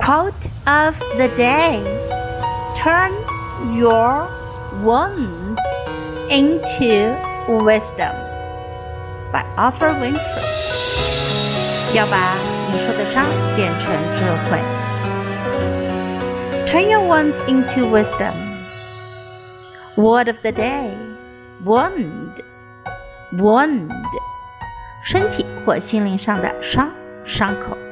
Quote of the day: Turn your wounds into wisdom. By Oprah Winfrey. 要把你受的伤变成智慧。Turn your wounds into wisdom. Word of the day: wound. Wound. 身体或心灵上的伤口。